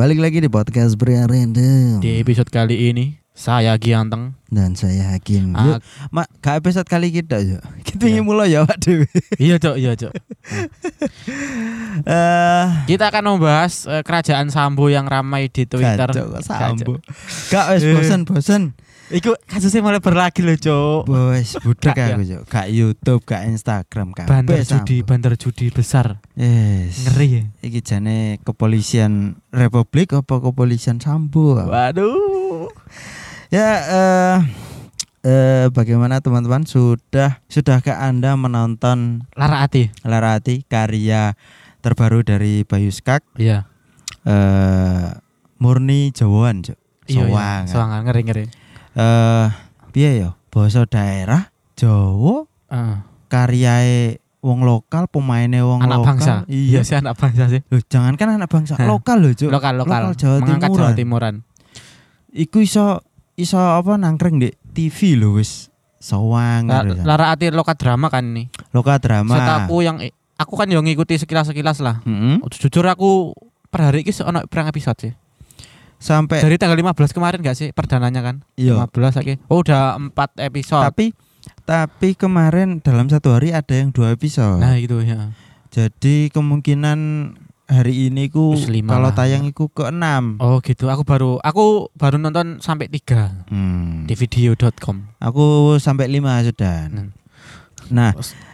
Balik lagi di podcast Pria Random. Di episode kali ini saya Gianteng Dan saya Hakim. Yuk, gak episode kali kita yuk. Kita ingin mulai ya Pak Dewi. Iya Cok. Kita akan membahas kerajaan Sambo yang ramai di Twitter. Sambo. Gak wes bosan. Iku kasusnya malah berlagi loh Cok. Wes budak aku Cok. Gak YouTube, gak Instagram, gak bandar judi besar. Yes. Ngeri ya. Iki jane kepolisian Republik apa kepolisian Sambo? Waduh. Ya bagaimana teman-teman, sudahkah Anda menonton Lara Ati karya terbaru dari Bayu Skak? Iya. Murni Jawaan, Cuk. Iya. Soangan ngeri. Piye ya? Basa daerah Jawa. Karyae wong lokal, pemainnya wong anak lokal. Bangsa. Iya sih anak bangsa sih. Loh, jangankan anak bangsa, lokal loh, Cuk. Lokal. Jawa Timuran. Iku iso apa nangkreng di TV lho wis sawang. Lara Ati loka drama kan ini. Loka drama. Setaku yang aku kan yang ngikuti sekilas lah. Jujur aku per hari ini ono pirang episode sih. Sampai dari tanggal 15 kemarin gak sih perdananya kan? Iya. 15 lagi. Oh udah 4 episode. Tapi kemarin dalam satu hari ada yang 2 episode. Nah itu ya. Jadi kemungkinan hari ini ku kalau tayang iku ke-6. Oh gitu. Aku baru nonton sampai 3 di video.com. Aku sampai 5 sudah. Nah,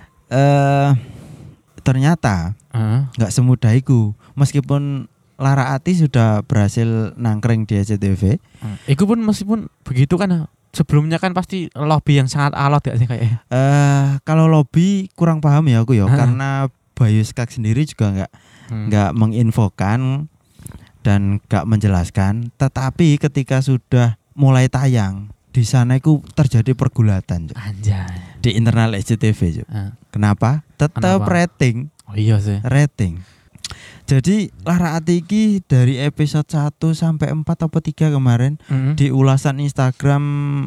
ternyata nggak semudah itu. Meskipun Lara Ati sudah berhasil nangkring di SCTV. Iku pun meskipun begitu kan sebelumnya kan pasti lobby yang sangat alot ya sih kayaknya. Kalau lobby kurang paham ya aku ya, karena Bayu Skak sendiri juga nggak menginfokan dan nggak menjelaskan. Tetapi ketika sudah mulai tayang di sana itu terjadi pergulatan. Anjay. Di internal SCTV. Kenapa? Tetap rating. Oh iya sih. Rating. Jadi Lara Ati iki dari episode 1 sampai 4 atau 3 kemarin di ulasan Instagram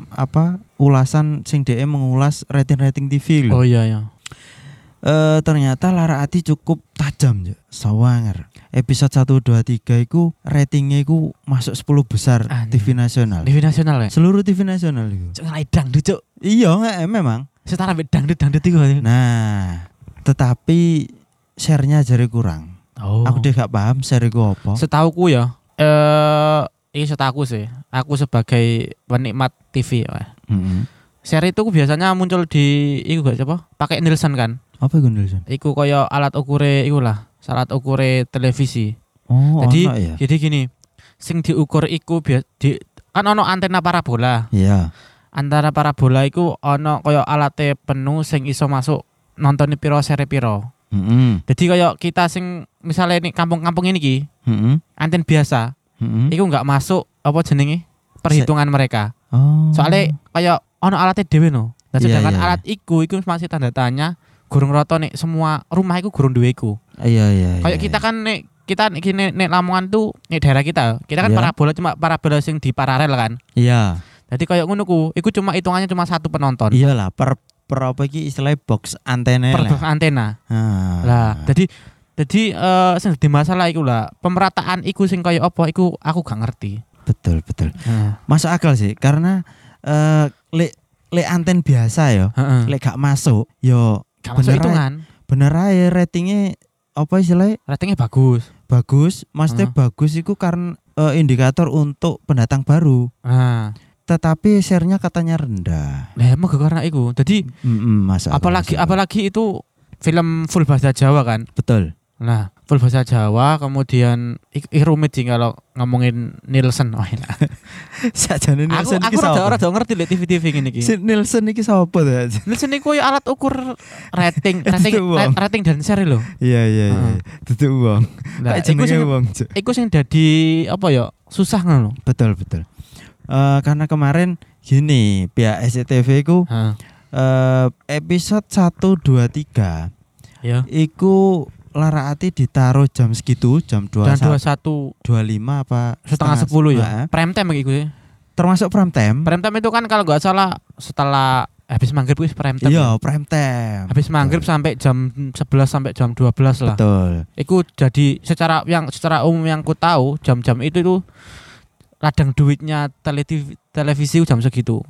ulasan sing DM mengulas rating TV loh. Oh iya. Ternyata Lara Ati cukup tajam ya. Sawanger. Episode 1 2 3 iku ratingnya iku masuk 10 besar TV nasional. TV nasional ya? Seluruh TV nasional iku. Cuk dangdut cuk. Iya memang. Setara dangdut iku. Nah, tetapi share-nya jadi kurang. Oh. Aku deh gak paham share iku apa. Setauku ya, ini setahu sih. Aku sebagai penikmat TV ya. Share itu biasanya muncul di iku gak siapa? Pakai Nielsen kan? Apa iku Nielsen? Iku kaya alat ukure iku lah, alat ukure televisi. Oh, jadi gini, sing diukur iku kan ono antena parabola. Iya. Antara parabola iku ono kaya alate penuh sing iso masuk nontoni piro seri piro. Jadi kayak kita sing misalnya ini kampung-kampung ini ki, anten biasa, itu nggak masuk apa jenenge perhitungan mereka. Soalnya kayak ono alatnya dewe no. Dan sedangkan alat iku masih tanda tanya, gurung roto nih semua rumah iku gurung duwe iku. Iya. Kayak kita kan kita nek Lamongan tuh nek daerah kita kan parabola cuma parabola sing di paralel kan. Iya. Jadi kayak ngono ku, iku cuma hitungannya cuma 1 penonton. Iyalah per apa iki istilahnya box antena box antena. Lah, jadi sing di masalah iku lah, pemerataan iku sing kaya apa iku aku gak ngerti. Betul. Masuk akal sih karena lek anten biasa ya, lek gak masuk yo gak masuk hitungan. Bener ae ratingnya apa istilahnya? Ratingnya bagus. Maksudnya bagus iku karena indikator untuk pendatang baru. Tetapi share-nya katanya rendah. Nah, emang karena itu. Jadi apalagi itu film full bahasa Jawa kan? Betul. Nah, full bahasa Jawa kemudian rumit sih kalau ngomongin Nielsen. Oh, enak. Sajane Nielsen iki sapa? Aku ora ngerti lek TV ngene iki. Nielsen iki sapa to? Nielsen iku alat ukur rating dan share lho. Iya. Dudu wong. Nah, iku sing dadi apa ya? Susah ngono. Betul. Karena kemarin gini pihak SCTV ku episode 1, 2, 3 iku Lara Ati ditaruh jam segitu, jam 21.25 apa setengah 10 ya. Prime time iku ya. Termasuk prime time. Prime time itu kan kalau nggak salah setelah Habis maghrib wis prime time. Iya, prime time. Habis maghrib sampai jam 11 sampai jam 12 lah. Betul. Iku jadi secara umum yang ku tahu jam-jam itu tuh ladang duitnya televisi jam segitu.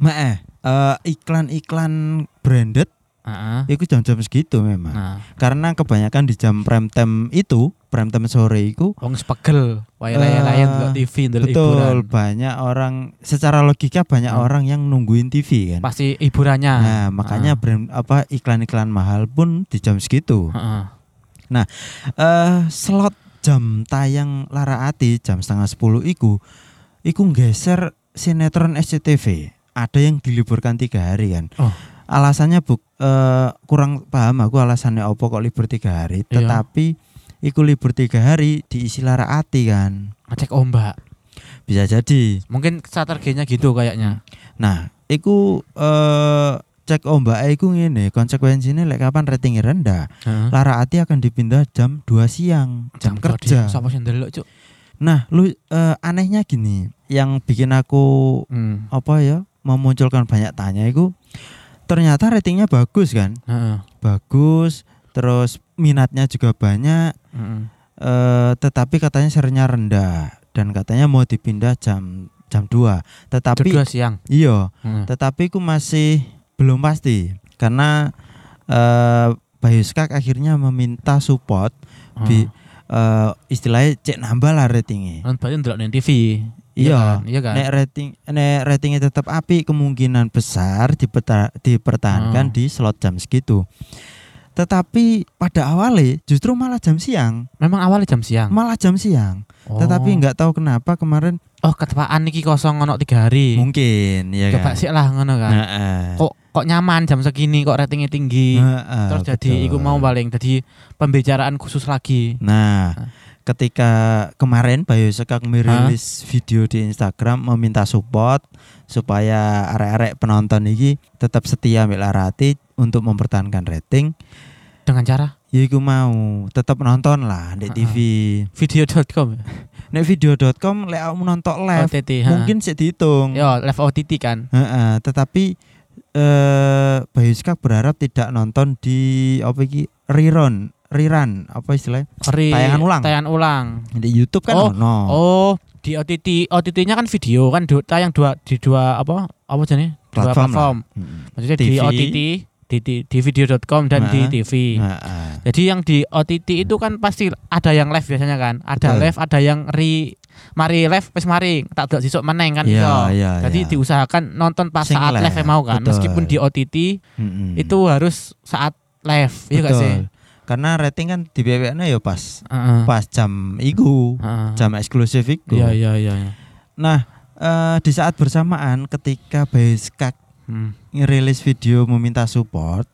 Iklan-iklan branded itu jam-jam segitu memang. Karena kebanyakan di jam prime time sore itu wong sepegel, wae layan-layan ndelok TV, ndelok hiburan. Betul, banyak orang secara logika banyak orang yang nungguin TV kan. Pasti hiburannya. Nah, makanya iklan-iklan mahal pun di jam segitu. Nah, slot jam tayang Lara Ati jam 9:30 iku nggeser sinetron SCTV. Ada yang diliburkan 3 hari kan. Alasannya kurang paham aku alasannya apa kok libur 3 hari. Iya. Tetapi iku libur 3 hari diisi Lara Ati kan. Ngecek ombak. Bisa jadi. Mungkin strateginya gitu kayaknya. Nah, iku cek ombak iku ngene, konsekuensinya lek kapan ratingnya rendah, Lara Ati akan dipindah jam 2 siang, jam kerja. Sapa sing ndelok, Cuk? Nah, anehnya gini, yang bikin aku memunculkan banyak tanya itu ternyata ratingnya bagus kan. Bagus, terus minatnya juga banyak. Tetapi katanya share-nya rendah dan katanya mau dipindah jam 2. Tetapi jam 2 siang. Iya. Tetapi aku masih belum pasti karena Bayu Skak akhirnya meminta support istilahnya cek nambah lah ratingnya. Kan berarti ndelok nang TV. Iya kan? Nek ratingnya tetap api, kemungkinan besar dipertahankan di slot jam segitu. Tetapi pada awalnya justru malah jam siang. Memang awalnya jam siang. Malah jam siang. Tetapi nggak tahu kenapa kemarin ketepaan iki kosong ono 3 hari. Mungkin ya coba kan. sih lah ngono kan. Kok nyaman jam segini kok ratingnya tinggi. Terus jadi iku mau paling jadi pembicaraan khusus lagi. Nah, ketika kemarin Bayu Skak merilis video di Instagram meminta support supaya arek-arek penonton ini tetap setia ambek Lara Ati untuk mempertahankan rating dengan cara ya iku mau tetap nonton lah di TV. Video.com. Nek video.com lek kamu nonton live OTT, mungkin sih dihitung. Ya, live OTT kan. Tetapi Bayu Skak berharap tidak nonton di rerun apa istilahnya? Tayangan ulang. Di YouTube kan di OTT-nya kan video kan tayang di dua jenis? Dua platform. Maksudnya TV. Di OTT di video.com dan di TV. Jadi yang di OTT itu kan pasti ada yang live biasanya kan. Ada live, ada yang mari live wis mari tak delok sesuk meneng kan iso. Jadi diusahakan nonton pas saat live mau kan. Betul. Meskipun di OTT itu harus saat live, iya gak sih? Karena rating kan di BWN ya pas jam iku, jam eksklusif iku. Iya. Nah, di saat bersamaan ketika Bayu Skak ngerilis video meminta support,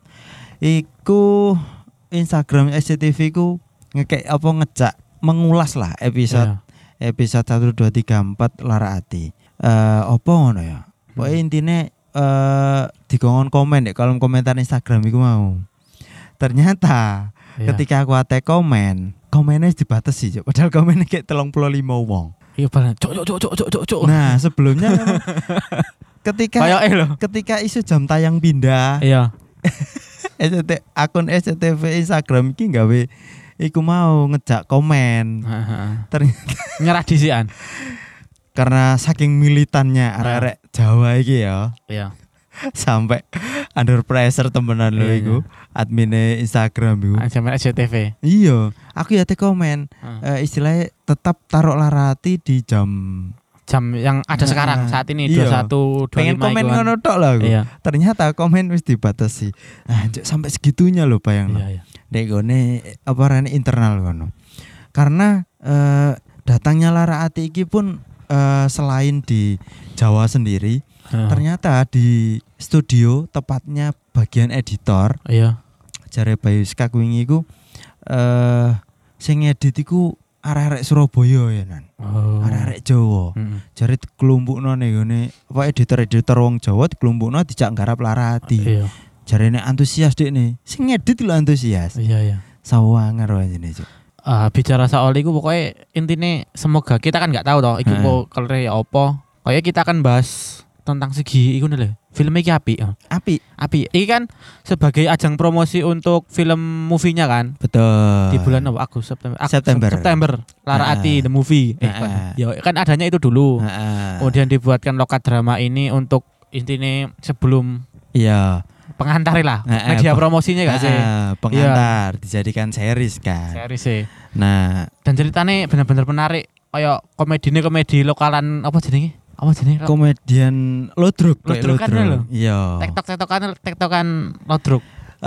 iku Instagram SCTV ku ngejak mengulas lah episode 1, 2, 3, 4 Lara Ati. Apa ngono ya? Pokoke intine dikongkon komen deh kolom komentar Instagram iku mau. Ternyata ketika aku ate komennya dibatasi, padahal komennya kayak 35 wong. Iya bener. Cok. Nah, sebelumnya memang ketika isu jam tayang pindah. Iya. Akun SCTV Instagram iki gawe iku mau ngejak komen. Ternyata nyerah disian. Karena saking militannya arek-arek Jawa iki ya. Iya. Sampai under pressure temenan lho iku admine Instagram iku. Sampai SCTV. Iya, aku ya komen istilahnya tetap taruh Lara Ati di jam yang ada sekarang saat ini 21 25. Pengen komen ngono tok lah aku. Iya. Ternyata komen wis dibatasi. Nah, sampai segitunya lho bayangno. Iya. Nek gone internal ngono. Karena datangnya Lara Ati iki pun selain di Jawa sendiri, ternyata di studio tepatnya bagian editor. Iya. Jare Bayu Skak wingi iku sing edit iku arek-arek Surabaya ya nan. Arek-arek Jawa. Jare dikelompokno ning ngene apa editor-editor wong Jawa dikelompokno dijak nggarap Lara Ati. Iya. Jarene antusias dekne. Sing ngedit lho antusias. Iya. Sawanger wae jenenge. Bicara soal iku pokoknya intine semoga kita kan nggak tahu toh iku kalau ya apa. Kayak kita akan bahas tentang segi iku lho. Film iki apik. Apik. Iki kan sebagai ajang promosi untuk film movie-nya kan. Betul. Di bulan apa? Agustus September. Lara Ati the movie. Ya kan adanya itu dulu. Kemudian dibuatkan lokat drama ini untuk intinya sebelum pengantar lah. Media promosinya gak sih? Pengantar dijadikan series kan. Series sih. Nah, dan ceritanya benar-benar menarik. Kayak komedi lokalan apa jenenge? Komedian Lodruk kan lho. Iya. Tektokan Lodruk.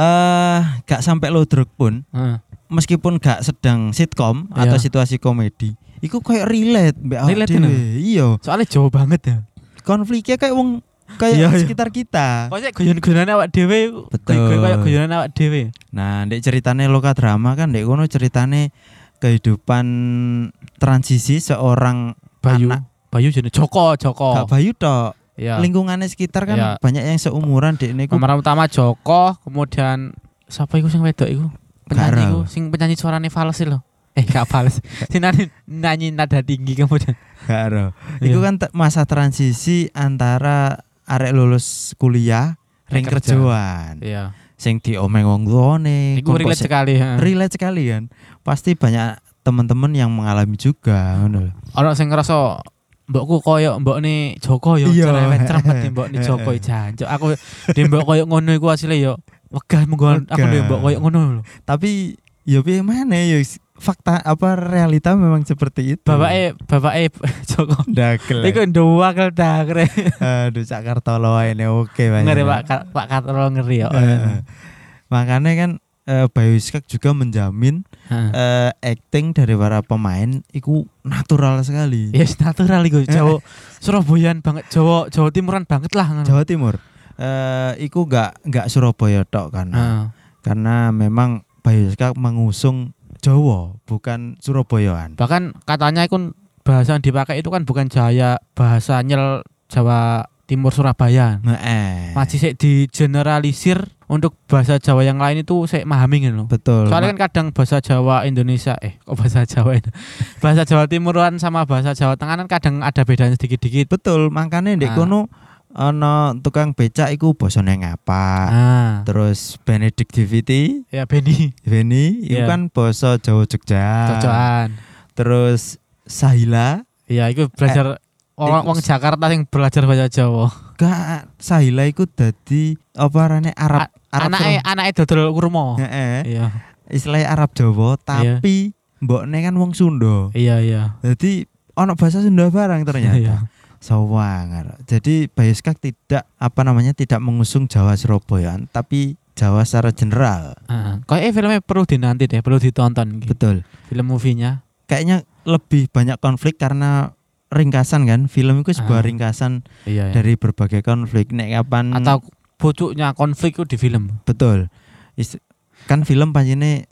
Gak sampai Lodruk pun. Meskipun gak sedang sitkom atau situasi komedi, iku kayak relate mbak dhewe. Iya. Soalnya jauh banget ya. Konfliknya kayak sekitar kita. Kayak guyon-guyonan awak dhewe. Betul. Kayak guyonan awak dhewe. Nah, ndek ceritane loka drama kan ndek kono ceritane kehidupan transisi seorang Bayu jenenge Joko. Gak Bayu tok. Iya. Lingkungannya sekitar kan banyak yang seumuran dek niku. Pemeran utama Joko, kemudian siapa iku sing wedok iku? Penyanyi iku sing penyanyi suarane fals lho. Gak fals. Sing nyanyi nada tinggi kemudian. Gak ero. Iku kan masa transisi antara arek lulus kuliah ring kerjaan. Iya. Sing diomeng wong tuane. Iku relate sekali. Relate sekali kan. Pasti banyak teman-teman yang mengalami juga ngono. Ono sing ngerasa mbokku koyo mbokne Joko yo cerewet mbokne Joko jancuk. Aku di mbok koyo ngono iku asline yo wegah menggon aku di mbok koyo ngono lho. Tapi yo piye maneh yo fakta apa realita memang seperti itu. Bapake Joko Dagel. Iku nduwakal dagre. Aduh Cak Kartolo ini oke banget. Ngeri Pak Kartolo ngeri yo. Makanya kan Bayu Skak juga menjamin acting dari para pemain itu natural sekali. Yes, natural iku. Jawa Surabayaan banget, Jawa Timuran banget lah. Jawa Timur. Iku enggak Surabaya tok karena memang Bayu Skak mengusung Jawa, bukan Surabayaan. Bahkan katanya itu bahasa yang dipakai itu kan bukan bahasa nyel Jawa Timur Surabaya. Masih sik digeneralisir untuk bahasa Jawa yang lain itu saya memahami gitu loh. Betul. Soalnya kan kadang bahasa Jawa Indonesia kok bahasa Jawa itu. Bahasa Jawa Timuran sama bahasa Jawa Tengah kan kadang ada bedanya sedikit-sedikit. Betul, makanya ndek kono ana tukang becak iku basane ngapa. Terus Benedict Diviti. Ya Beni itu kan basa Jawa Jogja. Jojoan. Terus Sahila. Iya, itu belajar orang Jakarta yang belajar bahasa Jawa. Gak, Sahila iku dadi apa arane Arab anake dodol kurma. Iya. Istilahnya Arab Jawa tapi mbokne kan wong Sunda. Iya. Jadi ono bahasa Sunda barang ternyata. Iya. Sawangar. Jadi Bayu Skak tidak mengusung Jawa Surabayaan tapi Jawa secara general. Kayaknya filmnya perlu dinanti deh, perlu ditonton. Betul. Film movie-nya. Kayaknya lebih banyak konflik karena ringkasan kan. Film itu sebuah ringkasan dari berbagai konflik. Nek kapan atau pucuknya konflik itu di film. Betul. Kan film pancene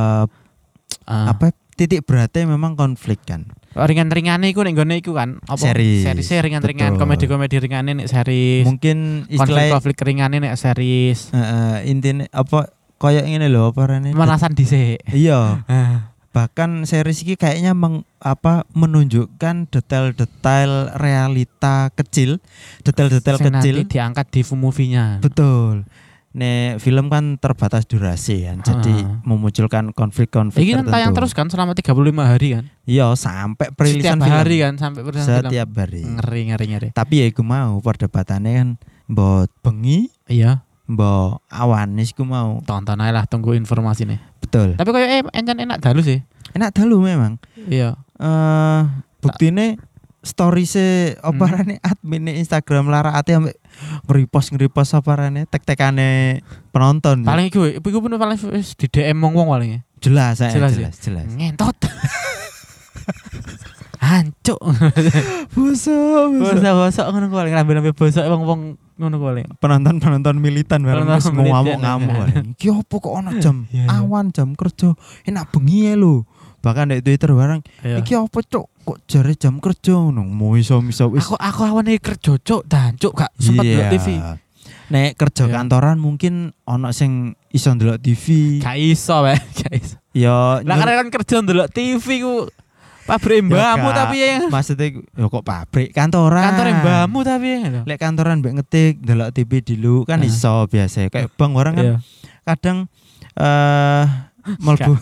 titik beratnya memang konflik kan. Ringan-ringane iku nek nggone iku kan apa series ringan-ringan, komedi-komedi ringane nek series. Mungkin istilah konflik ringane nek series. Intine apa koyo ngene lho apa rene. Manasan dhisik. Iya. Bahkan series ini kayaknya menunjukkan detail-detail realita kecil, detail-detail kecil nanti diangkat di movie-nya. Betul. Nek film kan terbatas durasi kan, jadi memunculkan konflik-konflik tertentu. Ini kan tayang terus kan selama 35 hari kan? Iya, sampai perilisan setiap hari kan, sampai perilisan setiap hari. Ngeri. Tapi ya iku mau perdebatannya kan mbok bengi, mbok awan iku mau. Tonton aja lah, tunggu informasi nih. Betul. Tapi kayak enak dalu sih. Enak dalu memang. Iya. Buktine story-se oparane admin Instagram Lara Ati ambek nge-repost oparane tek-tekane penonton. Paling iku pun paling di DM wong paling. Jelas. Ngentot. Hancuk. Bosok ngono kuwi ngambil bosok wong ngono kuwi. Penonton militan bareng wis ngamuk-ngamuk. Iki opo kok ana jam awan jam kerja enak bengi lho. Bahkan di Twitter bareng iki apa cuk kok jare jam kerja ngono iso wis aku awane kerja cuk dancuk gak sempet ndelok TV. Nek kerja kantoran mungkin ana sing iso ndelok TV. Gak iso. Ya lah kan kerja ndelok TV ku Pabrik mbahmu tapi ya. Maksudnya ya kok pabrik kantoran. Kantor mbahmu tapi ya. Lek kantoran mbek ngetik delok TV dulu kan iso biasa. Kayak bang orang kan kadang mlebu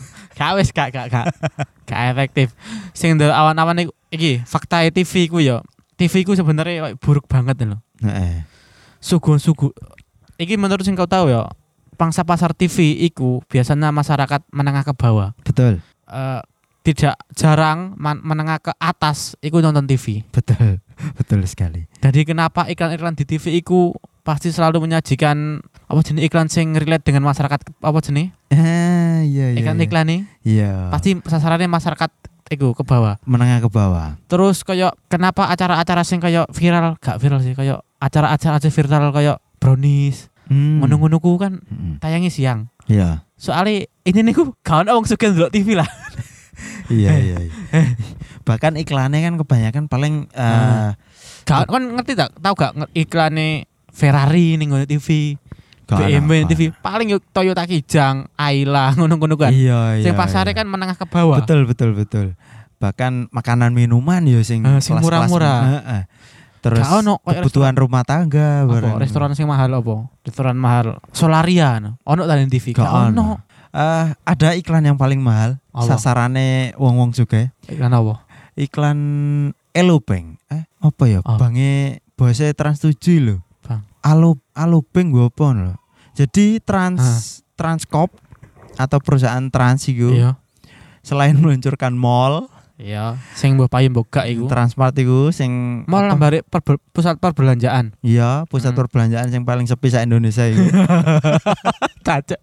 gak efektif. Sing ndelok awan-awan iki fakta TV ku ya. TV ku sebenarnya buruk banget lho. Heeh. Sugu-sugu. Iki menurut sing kau tahu ya. Pangsa pasar TV iku biasanya masyarakat menengah ke bawah. Betul. Tidak jarang menengah ke atas iku nonton TV. Betul. Betul sekali. Jadi kenapa iklan-iklan di TV iku pasti selalu menyajikan apa jenis iklan sing relate dengan masyarakat apa jenis? Iya. Iklan nih. Iya. Pasti sasarannya masyarakat iku ke bawah. Menengah ke bawah. Terus kayak kenapa acara-acara sing kayak viral, gak viral sih, kayak acara-acara viral kayak brownies. Ngono-ngono ku kan tayangi siang. Iya. Soalnya ini niku kawan wong sugih ndelok TV lah. Iya. Bahkan iklannya kan kebanyakan paling kan ngerti tahu gak iklannya Ferrari ning ngone TV. BMW TV paling yuk Toyota Kijang, Ayla ngono-ngono kan. Iya. Sing pasare kan menengah ke bawah. Betul. Bahkan makanan minuman ya sing murah-murah. Terus kebutuhan rumah tangga bareng. Restoran sing mahal apa? Restoran mahal Solaria ono ta TV. Ono. Ada iklan yang paling mahal, sasarane wong-wong juga. Iklan apa? Iklan Alobank. Apa ya? Bange bose Trans 7 lho. Bang. Alobank gua apa lho. Jadi Transcorp atau perusahaan Trans iku. Iya. Selain meluncurkan mall, iya, sing mbok payu mbok gak iku. Transmart iku sing mall nambare pusat perbelanjaan. Iya, pusat perbelanjaan sing paling sepi sa Indonesia iku. Cacak.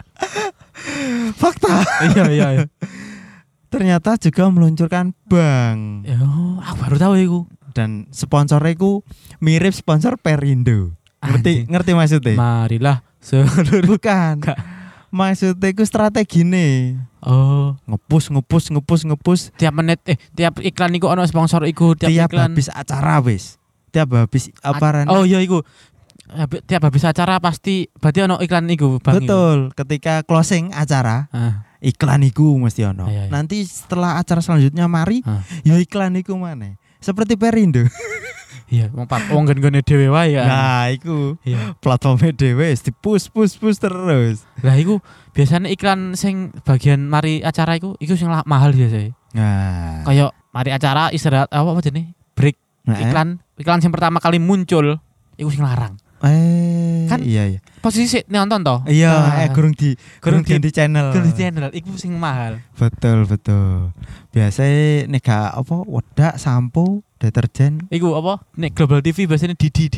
Fakta. Iya. Ternyata juga meluncurkan bank. Aku baru tahu iku. Dan sponsornya iku mirip sponsor Perindo. Ngerti maksudnya? Marilah seluruh. Bukan. Maksudnya iku strategine. Oh, ngepus. Tiap menit tiap iklan iku ono sponsor iku tiap iklan. Habis acara wis. Tiap habis apa Oh iya iku. Tiap habis acara pasti berarti ono iklan iku, Bang. Betul. Ketika closing acara, iklan iku mesti ono. Iya. Nanti setelah acara selanjutnya mari, ya iklan iku maneh. Seperti Perindo. Iya, wong gen-gene dhewe wae ya. Nah, iku. Iya. Platformnya dhewe di push terus. Lah iku biasanya iklan sing bagian mari acara iku sing mahal biasa. Nah. Kayak mari acara istirahat apa jenenge? Break. Iklan sing pertama kali muncul iku sing larang. Kan iya. Posisi nonton toh? Iya, gurung di channel. Gurung di channel iku sing mahal. Betul. Biasanya nek gak apa wedak, sampo, deterjen. Iku apa? Nek Global TV biasanya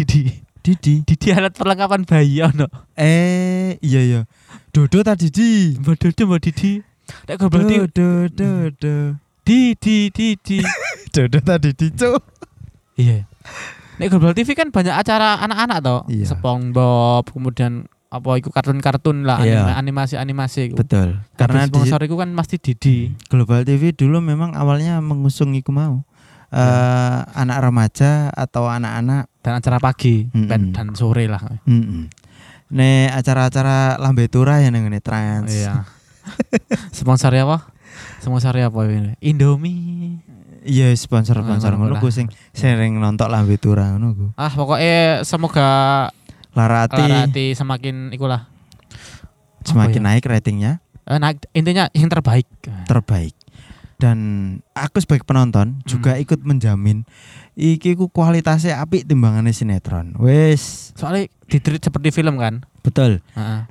Didi alat perlengkapan bayi ono. Iya. Dodo ta Didi. Mbak Didi. Nek Global TV Dodo. Didi. Dodo ta Didi, Cuk. Iya. Nek Global TV kan banyak acara anak-anak toh. Iya. SpongeBob, kemudian apa iku kartun-kartun lah, animasi-animasi. Betul. Karena sponsor iku kan pasti Didi. Global TV dulu memang awalnya mengusung iku mau. Anak remaja atau anak-anak dan acara pagi dan sore lah. Nek acara-acara lambe tura ya nang ngene Trans. Iya. Sponsornya apa ini? Indomie. Iya, sponsor ngono ku sing sering nonton lambe tura ngono ku. Pokoknya semoga Larati semakin ikulah. Semakin naik ratingnya. Naik, intinya yang terbaik. Dan aku sebagai penonton juga ikut menjamin iki ku kualitasnya apik timbangannya sinetron. Wes, soalnya ditreat seperti film kan? Betul.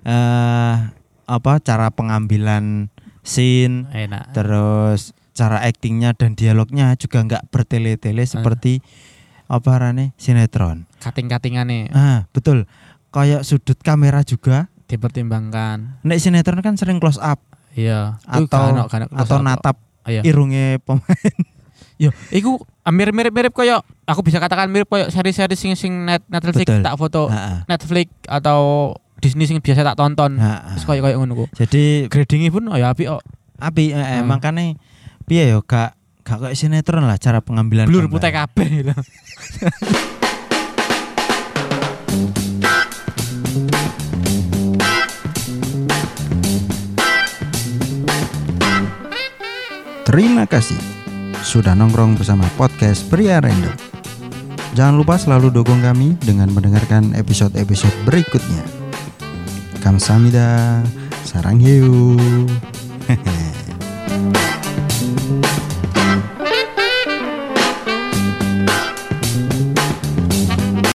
Cara pengambilan scene, enak. Terus cara aktingnya dan dialognya juga enggak bertele-tele seperti sinetron. Kating-katingannya. Betul. Kayak sudut kamera juga dipertimbangkan. Nek sinetron kan sering close up. Iya. Atau natap irunge pemain. Yo, iku mirip-mirip koyo aku bisa katakan mirip koyo seri-seri sing Netflix. Betul. Tak foto Netflix atau Disney sing biasa tak tonton. Terus koyo ngono ku. Jadi gradingnya pun apik kok. Apik makane piye yo gak koyo sinetron lah cara pengambilan blur putih kabeh. Terima kasih sudah nongkrong bersama podcast Pria Random. Jangan lupa selalu dukung kami dengan mendengarkan episode-episode berikutnya. Kamsahamnida, sarang hiu.